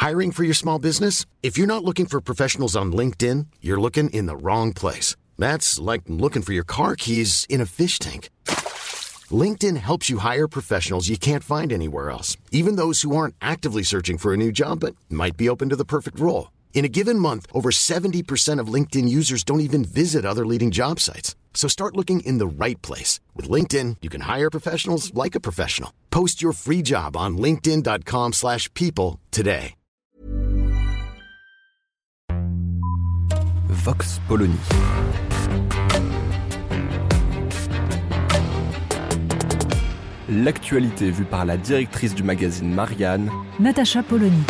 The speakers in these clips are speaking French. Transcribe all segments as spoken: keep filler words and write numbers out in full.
Hiring for your small business? If you're not looking for professionals on LinkedIn, you're looking in the wrong place. That's like looking for your car keys in a fish tank. LinkedIn helps you hire professionals you can't find anywhere else, even those who aren't actively searching for a new job but might be open to the perfect role. In a given month, over seventy percent of LinkedIn users don't even visit other leading job sites. So start looking in the right place. With LinkedIn, you can hire professionals like a professional. Post your free job on linkedin dot com slash people today. Vox Polony. L'actualité vue par la directrice du magazine Marianne, Natacha Polony.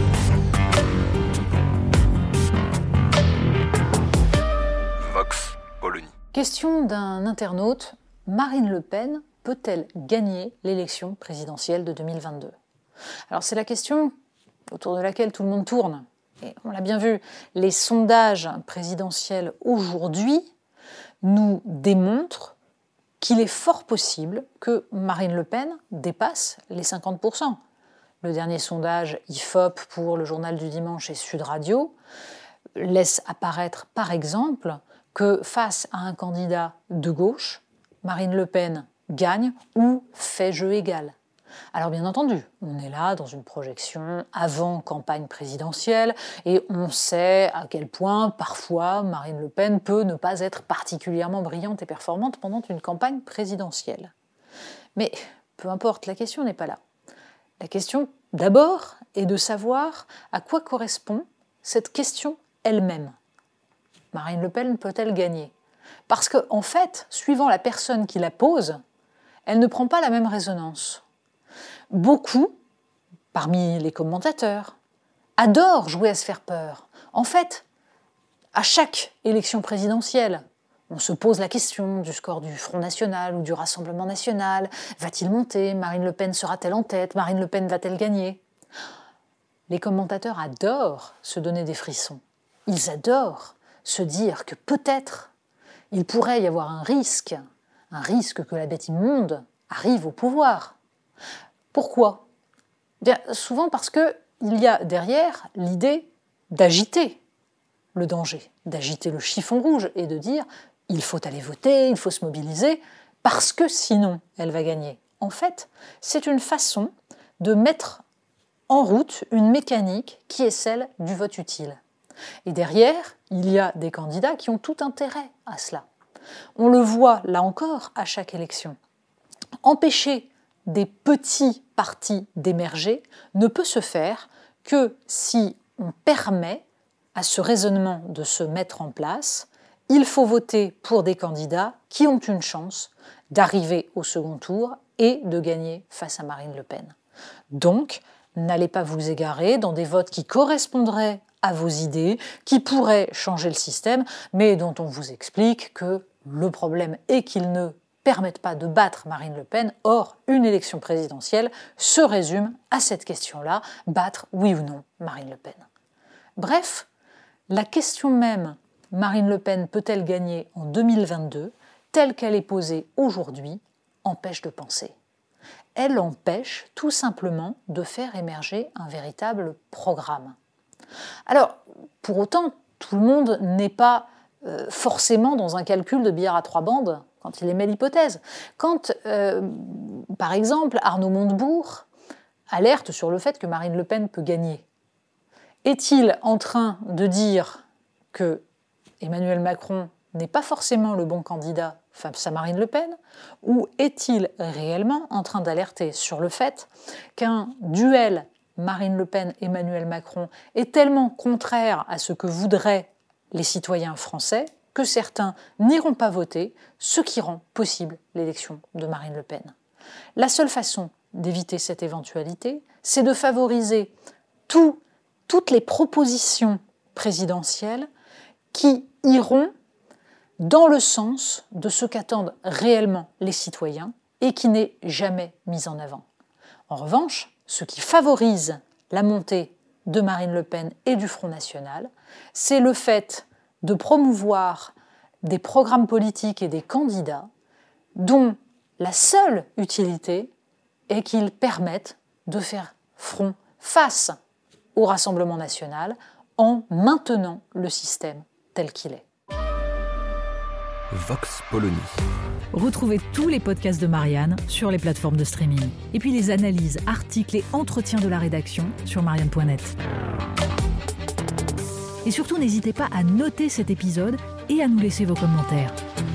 Vox Polony. Question d'un internaute, Marine Le Pen peut-elle gagner l'élection présidentielle de deux mille vingt-deux ? Alors c'est la question autour de laquelle tout le monde tourne. Et on l'a bien vu, les sondages présidentiels aujourd'hui nous démontrent qu'il est fort possible que Marine Le Pen dépasse les cinquante pour cent. Le dernier sondage I F O P pour le Journal du Dimanche et Sud Radio laisse apparaître par exemple que face à un candidat de gauche, Marine Le Pen gagne ou fait jeu égal. Alors bien entendu, on est là dans une projection avant campagne présidentielle et on sait à quel point parfois Marine Le Pen peut ne pas être particulièrement brillante et performante pendant une campagne présidentielle. Mais peu importe, la question n'est pas là. La question d'abord est de savoir à quoi correspond cette question elle-même. Marine Le Pen peut-elle gagner ? Parce qu'en en fait, suivant la personne qui la pose, elle ne prend pas la même résonance. Beaucoup, parmi les commentateurs, adorent jouer à se faire peur. En fait, à chaque élection présidentielle, on se pose la question du score du Front National ou du Rassemblement National. Va-t-il monter ? Marine Le Pen sera-t-elle en tête ? Marine Le Pen va-t-elle gagner ? Les commentateurs adorent se donner des frissons. Ils adorent se dire que peut-être il pourrait y avoir un risque, un risque que la bête immonde arrive au pouvoir. Pourquoi ? Bien, souvent parce qu'il y a derrière l'idée d'agiter le danger, d'agiter le chiffon rouge et de dire « il faut aller voter, il faut se mobiliser, parce que sinon elle va gagner ». En fait, c'est une façon de mettre en route une mécanique qui est celle du vote utile. Et derrière, il y a des candidats qui ont tout intérêt à cela. On le voit, là encore, à chaque élection. Empêcher des petits partis d'émerger ne peut se faire que si on permet à ce raisonnement de se mettre en place. Il faut voter pour des candidats qui ont une chance d'arriver au second tour et de gagner face à Marine Le Pen. Donc, n'allez pas vous égarer dans des votes qui correspondraient à vos idées, qui pourraient changer le système, mais dont on vous explique que le problème est qu'ils ne permettent pas de battre Marine Le Pen. Or, une élection présidentielle se résume à cette question-là, battre oui ou non Marine Le Pen. Bref, la question même, Marine Le Pen peut-elle gagner en deux mille vingt-deux, telle qu'elle est posée aujourd'hui, empêche de penser. Elle empêche tout simplement de faire émerger un véritable programme. Alors, pour autant, tout le monde n'est pas euh, forcément dans un calcul de billard à trois bandes quand il émet l'hypothèse. Quand, euh, par exemple, Arnaud Montebourg alerte sur le fait que Marine Le Pen peut gagner, est-il en train de dire que Emmanuel Macron n'est pas forcément le bon candidat face à Marine Le Pen, ou est-il réellement en train d'alerter sur le fait qu'un duel Marine Le Pen-Emmanuel Macron est tellement contraire à ce que voudraient les citoyens français que certains n'iront pas voter, ce qui rend possible l'élection de Marine Le Pen. La seule façon d'éviter cette éventualité, c'est de favoriser tout, toutes les propositions présidentielles qui iront dans le sens de ce qu'attendent réellement les citoyens et qui n'est jamais mis en avant. En revanche, ce qui favorise la montée de Marine Le Pen et du Front National, c'est le fait de promouvoir des programmes politiques et des candidats dont la seule utilité est qu'ils permettent de faire front face au Rassemblement national en maintenant le système tel qu'il est. Vox Polony. Retrouvez tous les podcasts de Marianne sur les plateformes de streaming. Et puis les analyses, articles et entretiens de la rédaction sur marianne point net. Et surtout, n'hésitez pas à noter cet épisode et à nous laisser vos commentaires.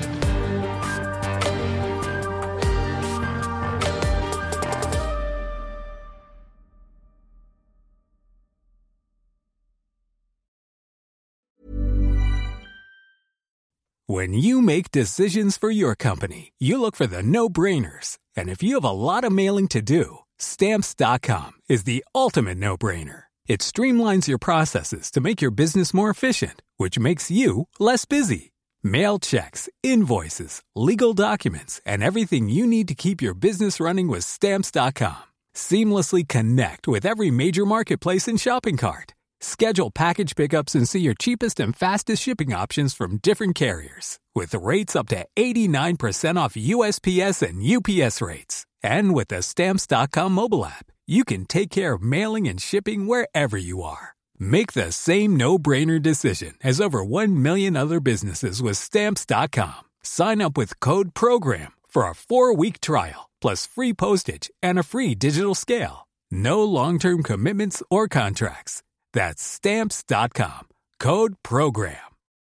When you make decisions for your company, you look for the no-brainers. And if you have a lot of mailing to do, Stamps dot com is the ultimate no-brainer. It streamlines your processes to make your business more efficient, which makes you less busy. Mail checks, invoices, legal documents, and everything you need to keep your business running with Stamps dot com. Seamlessly connect with every major marketplace and shopping cart. Schedule package pickups and see your cheapest and fastest shipping options from different carriers. With rates up to eighty-nine percent off U S P S and U P S rates. And with the Stamps dot com mobile app, you can take care of mailing and shipping wherever you are. Make the same no-brainer decision as over one million other businesses with Stamps dot com. Sign up with code PROGRAM for a four-week trial, plus free postage and a free digital scale. No long-term commitments or contracts. That's Stamps dot com. Code PROGRAM.